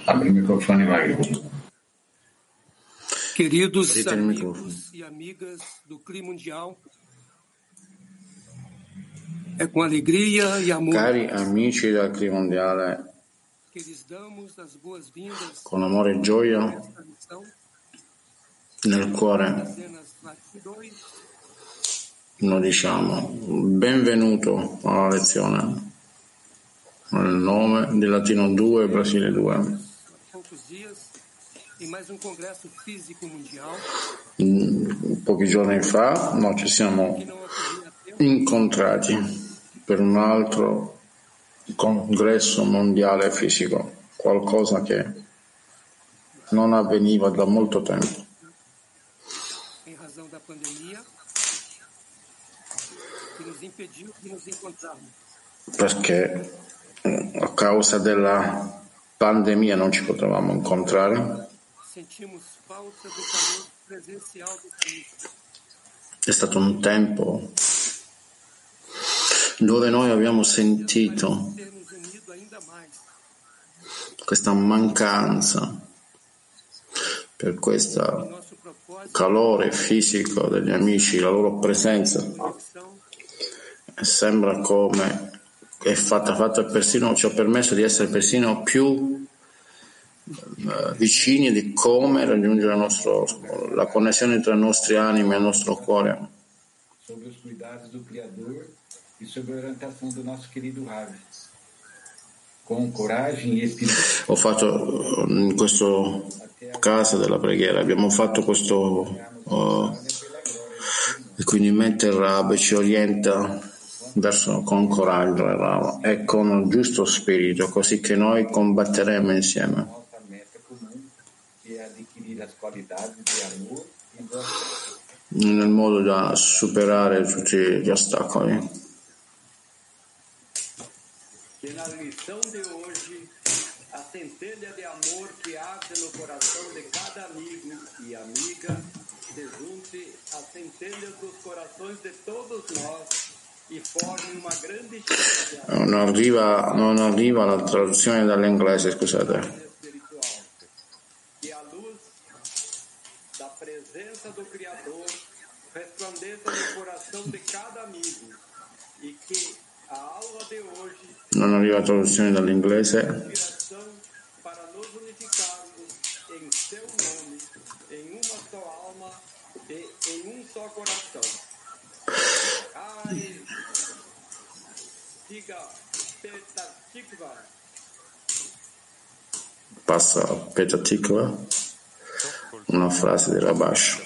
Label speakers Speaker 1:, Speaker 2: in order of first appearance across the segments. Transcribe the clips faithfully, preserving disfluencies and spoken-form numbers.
Speaker 1: Abre il microfono, Magri.
Speaker 2: Queridos amigos e amigas do Clima Mundial, é com alegria e amor
Speaker 3: Cari amici del Clima Mondiale,
Speaker 2: que lhes damos as boas-vindas
Speaker 3: con amore e gioia
Speaker 2: a esta missão
Speaker 3: nel cuore
Speaker 2: Dezenas parte dois,
Speaker 3: noi diciamo benvenuto alla lezione nel nome di Latino due Brasile due.
Speaker 2: há poucos dias, em mais um congresso físico mundial
Speaker 3: Mm, Pochi giorni fa noi ci siamo
Speaker 2: que não ocorria há tempo,
Speaker 3: incontrati per un altro congresso mondiale fisico, qualcosa che non avveniva da molto tempo,
Speaker 2: em razão da pandemia, que nos impediu de nos encontrarmos.
Speaker 3: perché eh, a causa della pandemia non ci potevamo incontrare.
Speaker 2: Sentimos falta do calor presencial do país.
Speaker 3: È stato un tempo dove noi abbiamo sentito
Speaker 2: Ter nos unido ainda mais.
Speaker 3: questa mancanza per questo
Speaker 2: Nosso propósito
Speaker 3: calore fisico degli amici, la loro presenza.
Speaker 2: de conexão
Speaker 3: E sembra come è fatta, fatta persino, ci ha permesso di essere persino più eh, vicini di come raggiungere il nostro, la connessione tra i nostri animi e il nostro cuore.
Speaker 1: Sobre os cuidados do Criador e sobre a orientação do nosso querido Ravi. Com coragem e espírito.
Speaker 3: Ho fatto in questo casa della preghiera, abbiamo fatto questo uh, e quindi mentre il Rab ci orienta verso con coraggio il Rab, e con il giusto spirito, così che noi combatteremo insieme
Speaker 1: Nossa meta comum, que é adquirir as qualidades de amor e do
Speaker 3: nel modo da superare tutti gli ostacoli.
Speaker 4: Que na lição de hoje, a centelha de amor que arde no coração de cada amigo e amiga se junte às centelhas dos corações de todos nós e forme uma grande chama de amor
Speaker 3: Non arriva, non arriva la traduzione dall'inglese, scusate.
Speaker 4: espiritual. Que a luz da presença do Criador resplandeça no coração de cada amigo e que a aula de hoje
Speaker 3: Non arriva la traduzione dall'inglese.
Speaker 4: inspiração para nos unificarmos em seu nome, em uma só alma e em um só coração. Ai, diga Petah Tikva,
Speaker 3: Passa a Petah Tikva, una frase di Rabash.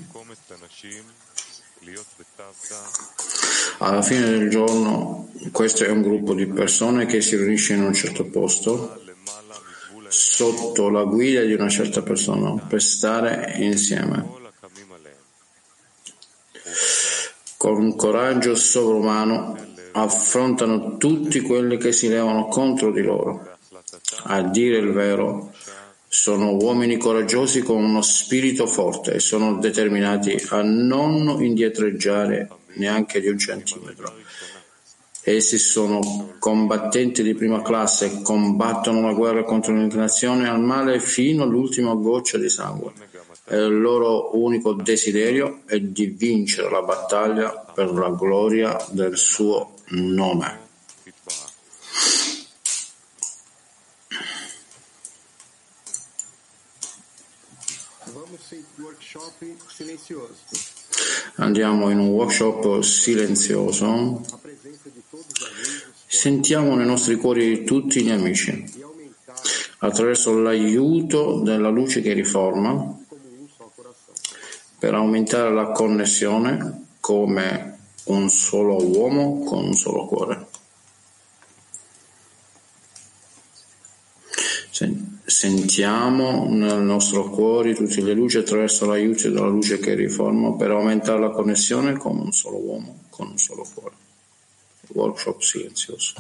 Speaker 3: Alla fine del giorno, questo è un gruppo di persone che si riunisce in un certo posto sotto la guida di una certa persona per stare insieme con un coraggio sovrumano. Affrontano tutti quelli che si levano contro di loro. A dire il vero, sono uomini coraggiosi con uno spirito forte e sono determinati a non indietreggiare neanche di un centimetro. Essi sono combattenti di prima classe e combattono la guerra contro l'inclinazione al male fino all'ultima goccia di sangue. E il loro unico desiderio è di vincere la battaglia per la gloria del suo nome. Andiamo in un workshop silenzioso. Sentiamo nei nostri cuori tutti gli amici, attraverso l'aiuto della luce che riforma, per aumentare la connessione come un solo uomo con un solo cuore. Sentiamo nel nostro cuore tutte le luci attraverso l'aiuto della luce che riforma per aumentare la connessione come un solo uomo con un solo cuore. Workshop silenzioso.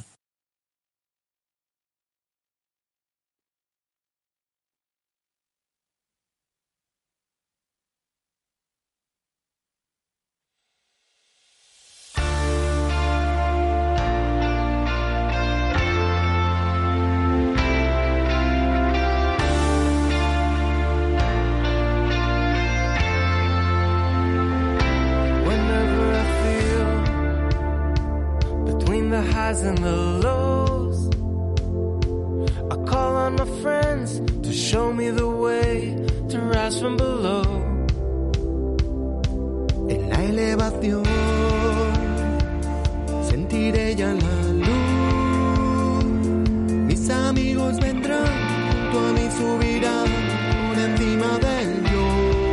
Speaker 5: highs and the lows. I call on my friends to show me the way to rise from below. En la elevación sentiré ya la luz. Mis amigos vendrán, tú a mí subirán por encima del yo.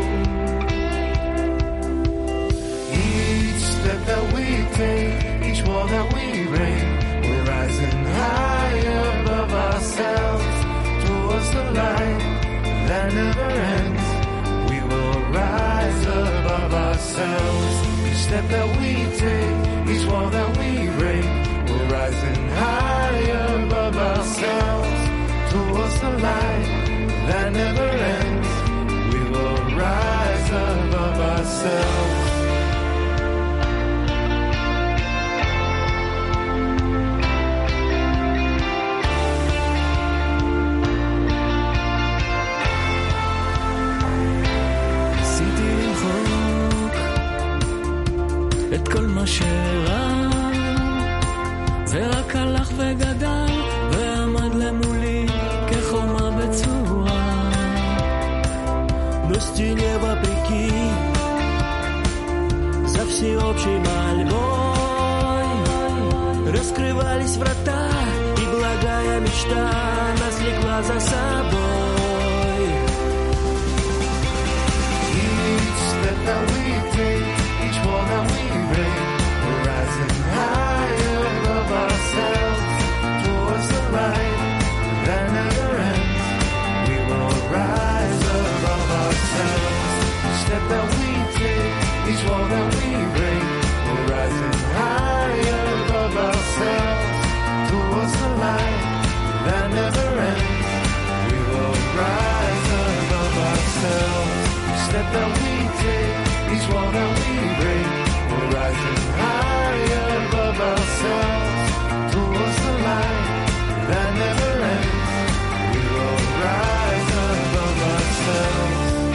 Speaker 5: Each step that we take, each wall that we break, we're rising higher above ourselves towards the light that never ends. We will rise above ourselves. Each step that we take, each wall that we break, we're rising higher above ourselves towards the light that never ends. We will rise above ourselves. את כל מה שרע ורק הלך וגדל ועמד למולי כחומה בצורה. Нести вопреки за всеобщей мольбой раскрывались врата, и благая мечта нас влекла за собой. Each step that we take, each wall that we break, we're rising higher above ourselves towards the light that never ends. We will rise above ourselves. Each step that we take, each wall that we break, we're rising higher above ourselves towards the light that never ends. We will rise above ourselves. Each step that we take, each wall that we break, we're rising higher above ourselves towards the light that never ends. We will rise above ourselves.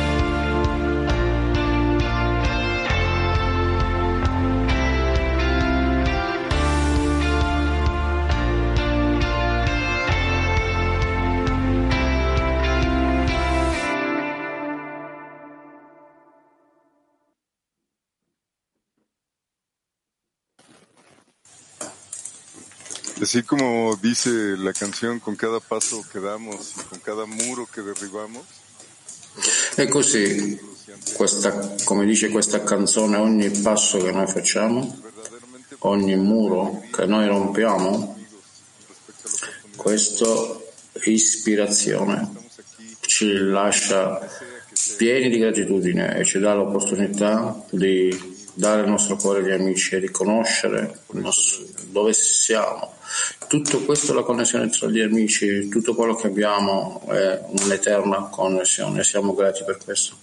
Speaker 6: Así como dice la canción, con cada paso que damos y con cada muro che derribamos.
Speaker 3: E così, questa, come dice questa canzone, ogni passo che noi facciamo, ogni muro che noi rompiamo, questa ispirazione ci lascia pieni di gratitudine e ci dà l'opportunità di dare il nostro cuore agli amici e riconoscere dove siamo. Tutto questo è la connessione tra gli amici, tutto quello che abbiamo è un'eterna connessione, siamo grati per questo.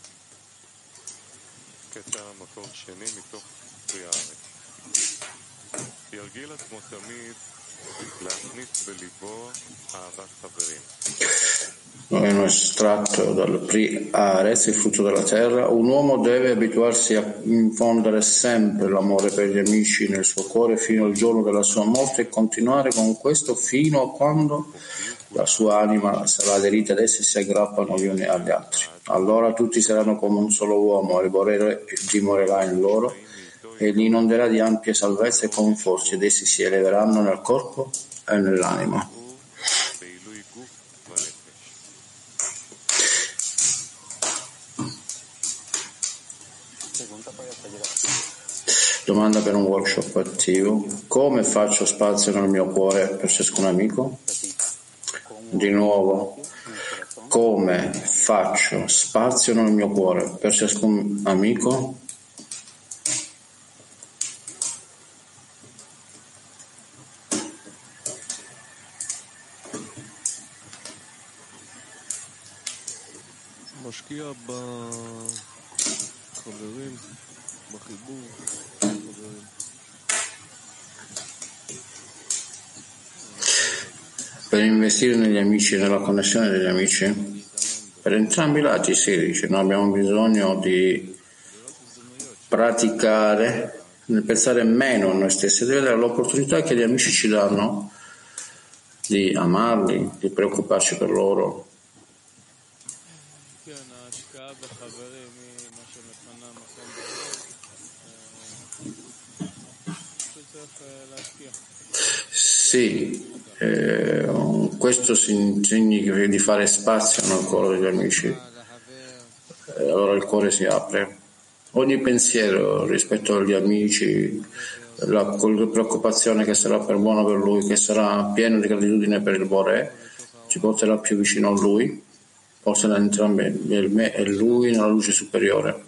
Speaker 3: È un estratto dal Pri Haaretz, il frutto della terra. Un uomo deve abituarsi a infondere sempre l'amore per gli amici nel suo cuore fino al giorno della sua morte e continuare con questo fino a quando la sua anima sarà aderita ad essi e si aggrappano gli uni agli altri. Allora tutti saranno come un solo uomo, dimorerà in loro e li inonderà di ampie salvezze e conforti ed essi si eleveranno nel corpo e nell'anima. Domanda per un workshop attivo: come faccio spazio nel mio cuore per ciascun amico? Di nuovo, come faccio spazio nel mio cuore per ciascun amico?
Speaker 7: משקיע בחברים, בחיבור.
Speaker 3: Per investire negli amici, nella connessione degli amici, per entrambi i lati si dice, noi abbiamo bisogno di praticare nel pensare meno a noi stessi, di vedere l'opportunità che gli amici ci danno di amarli, di preoccuparci per loro. Sì, eh, questo significa di fare spazio nel cuore degli amici, eh, allora il cuore si apre. Ogni pensiero rispetto agli amici, la, con la preoccupazione che sarà per buono per lui, che sarà pieno di gratitudine per il Boré, ci porterà più vicino a lui, porterà entrambi me e lui nella luce superiore.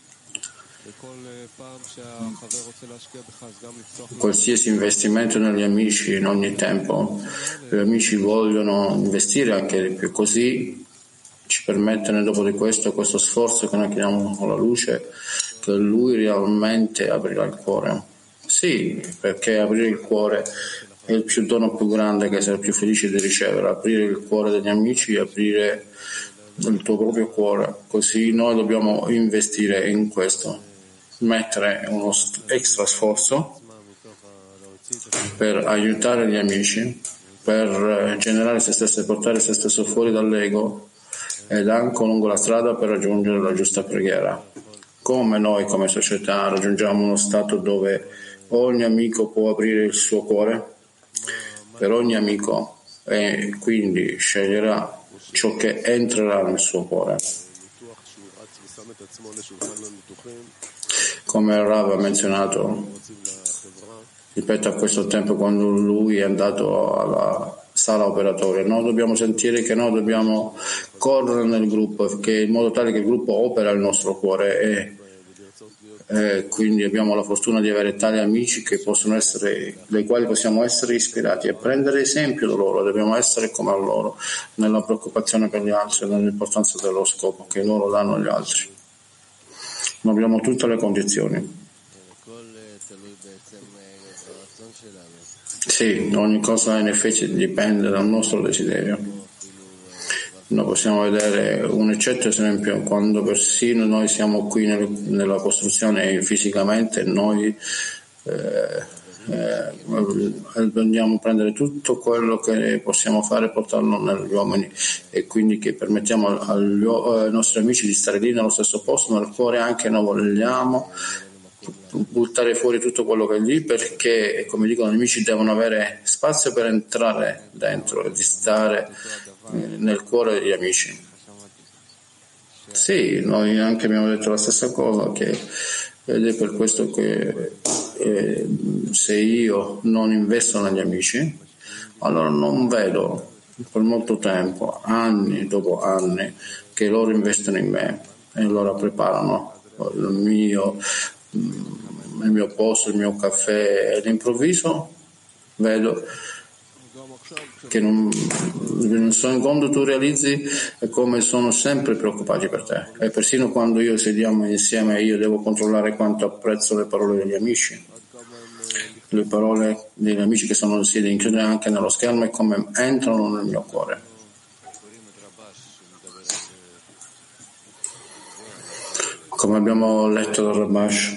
Speaker 3: Qualsiasi investimento negli amici in ogni tempo, gli amici vogliono investire anche di più, così ci permettono dopo di questo, questo sforzo che noi chiamiamo con la luce, che lui realmente aprirà il cuore. Sì, perché aprire il cuore è il più dono più grande che sei più felice di ricevere, aprire il cuore degli amici, aprire il tuo proprio cuore, così noi dobbiamo investire in questo, mettere uno extra sforzo per aiutare gli amici, per generare se stesso e portare se stesso fuori dall'ego ed anche lungo la strada per raggiungere la giusta preghiera. Come noi come società raggiungiamo uno stato dove ogni amico può aprire il suo cuore per ogni amico e quindi sceglierà ciò che entrerà nel suo cuore. Come il Rav ha menzionato, ripeto a questo tempo, quando lui è andato alla sala operatoria, noi dobbiamo sentire che noi dobbiamo correre nel gruppo, che in modo tale che il gruppo opera il nostro cuore e, e quindi abbiamo la fortuna di avere tali amici che possono essere, dai quali possiamo essere ispirati e prendere esempio da loro. Dobbiamo essere come loro nella preoccupazione per gli altri, nell'importanza dello scopo che loro danno agli altri. Non abbiamo tutte le condizioni. Sì, ogni cosa in effetti dipende dal nostro desiderio. Noi possiamo vedere un eccetto esempio quando persino noi siamo qui nel, nella costruzione e fisicamente noi eh, eh, andiamo a prendere tutto quello che possiamo fare e portarlo negli uomini e quindi che permettiamo agli, ai nostri amici di stare lì nello stesso posto, nel cuore anche noi vogliamo buttare fuori tutto quello che è lì, perché come dicono gli amici devono avere spazio per entrare dentro e di stare nel cuore degli amici. Sì, noi anche abbiamo detto la stessa cosa, che ed è per questo che eh, se io non investo negli amici, allora non vedo per molto tempo, anni dopo anni, che loro investono in me e allora preparano il mio il mio posto, il mio caffè, e all'improvviso vedo che non, non so, quando tu realizzi è come sono sempre preoccupati per te, e persino quando io sediamo insieme io devo controllare quanto apprezzo le parole degli amici, le parole degli amici che sono si includono anche nello schermo e come entrano nel mio cuore. Come abbiamo letto dal Rabash,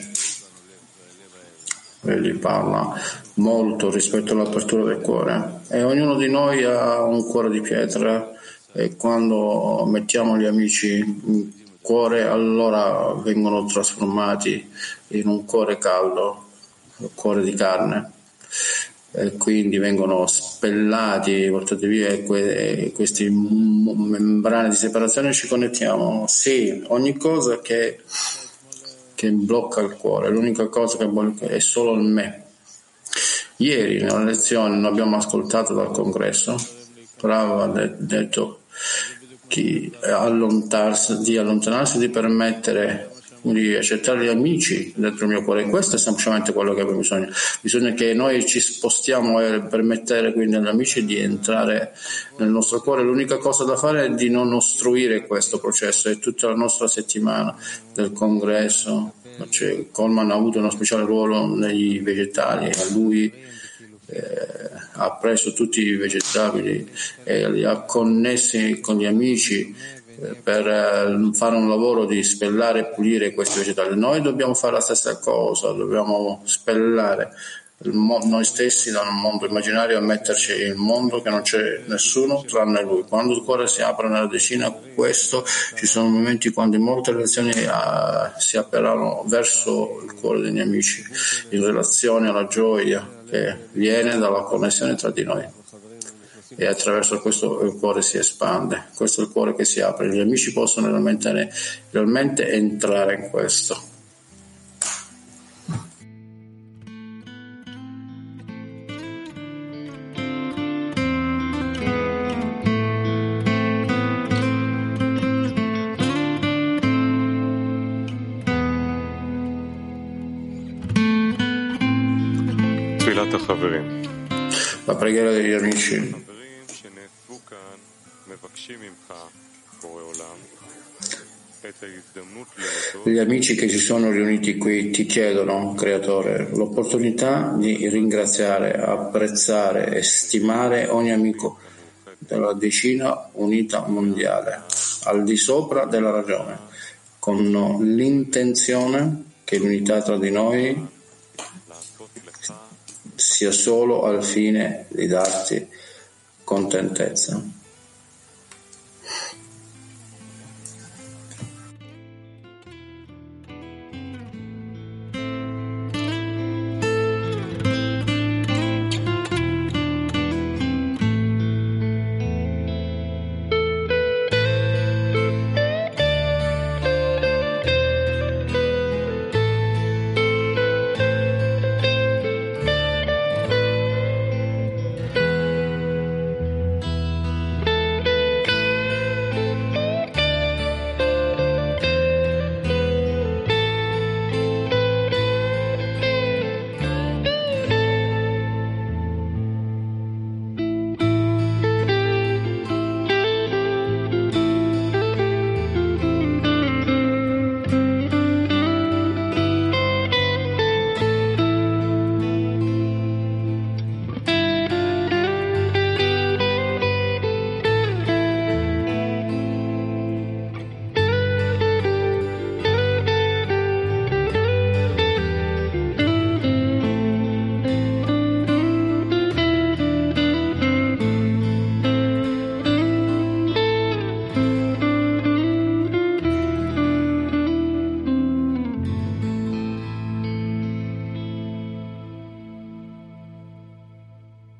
Speaker 3: egli parla molto rispetto all'apertura del cuore e ognuno di noi ha un cuore di pietra e quando mettiamo gli amici in cuore allora vengono trasformati in un cuore caldo, un cuore di carne, e quindi vengono spellati, portati via e que- queste membrane di separazione, ci connettiamo. Sì, ogni cosa che, che blocca il cuore, l'unica cosa che blocca è solo il me. Ieri nella lezione noi abbiamo ascoltato dal congresso, Rav ha detto che allontanarsi, di allontanarsi, di permettere di accettare gli amici dentro il mio cuore. Questo è semplicemente quello che abbiamo bisogno. Bisogna che noi ci spostiamo e permettere quindi agli amici di entrare nel nostro cuore. L'unica cosa da fare è di non ostruire questo processo. E tutta la nostra settimana del congresso, cioè, Coleman ha avuto uno speciale ruolo nei vegetali e lui eh, ha preso tutti i vegetabili e li ha connessi con gli amici per eh, fare un lavoro di spellare e pulire questi vegetali. Noi dobbiamo fare la stessa cosa, dobbiamo spellare il mo- noi stessi da un mondo immaginario e metterci in un mondo che non c'è nessuno tranne lui. Quando il cuore si apre nella decina, questo ci sono momenti quando in molte relazioni uh, si apriranno verso il cuore degli amici in relazione alla gioia che viene dalla connessione tra di noi, e attraverso questo il cuore si espande. Questo è il cuore che si apre, gli amici possono realmente, realmente entrare in questo. La preghiera degli amici. Gli amici che si sono riuniti qui ti chiedono, Creatore, l'opportunità di ringraziare, apprezzare e stimare ogni amico della decina unita mondiale, al di sopra della ragione, con l'intenzione che l'unità tra di noi sia solo al fine di darti contentezza.